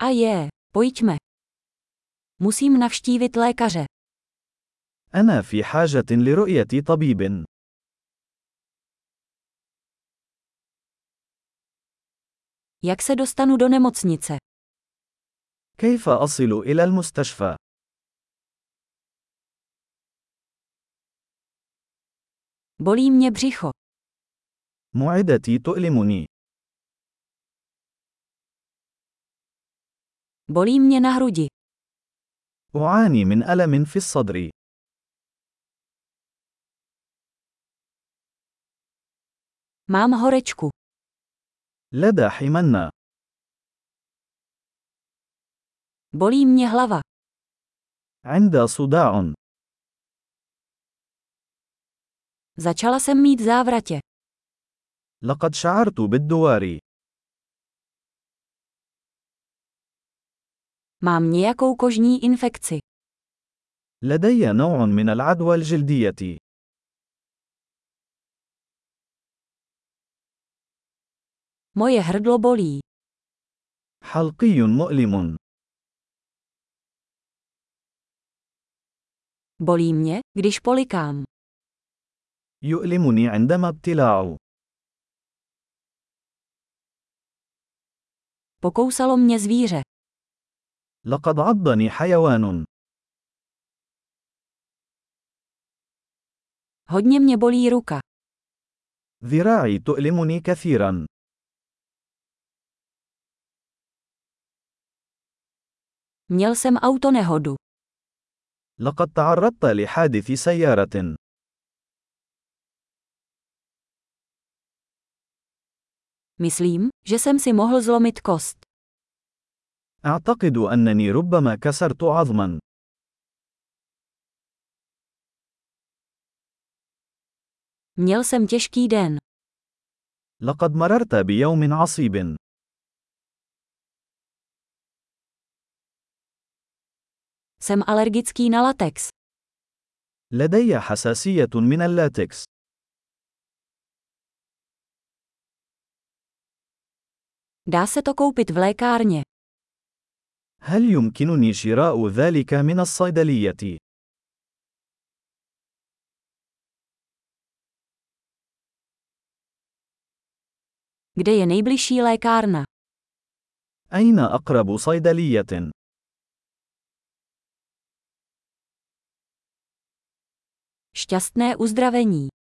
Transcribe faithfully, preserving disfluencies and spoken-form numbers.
A je, pojďme. Musím navštívit lékaře. أنا في حاجة لرؤية طبيب. Jak se dostanu do nemocnice? كيف أصل إلى المستشفى؟ Bolí mě břicho. معدتي تؤلمني. Bolí mě na hrudi. أعاني من ألم في الصدر. Mám horečku. لدى حمنة. Bolí mě hlava. عند صداع. Začala jsem mít závratě. لقد شعرت بالدوار. Mám nějakou kožní infekci. لدي نوع من العدوى الجلدية. Moje hrdlo bolí. حلقي مؤلم. Bolí mě, když polikám. يؤلمني عندما ابتلاع. Pokousalo mě zvíře. لقد عضني حيوان. Hodně mě bolí ruka. ذراعي تؤلمني كثيرا. Měl jsem autonehodu. لقد تعرضت لحادث سيارة. Myslím, že jsem si mohl zlomit kost. أعتقد أنني ربما كسرت عظما. Měl jsem těžký den. لقد مررت بيوم عصيب. Jsem alergický na latex. لدي حساسية من اللاتكس. Dá se to koupit v lékárně. هل يمكنني شراء ذلك من الصيدلية؟ Kde je nejbližší lékárna? أين أقرب صيدلية؟ Šťastné uzdravení.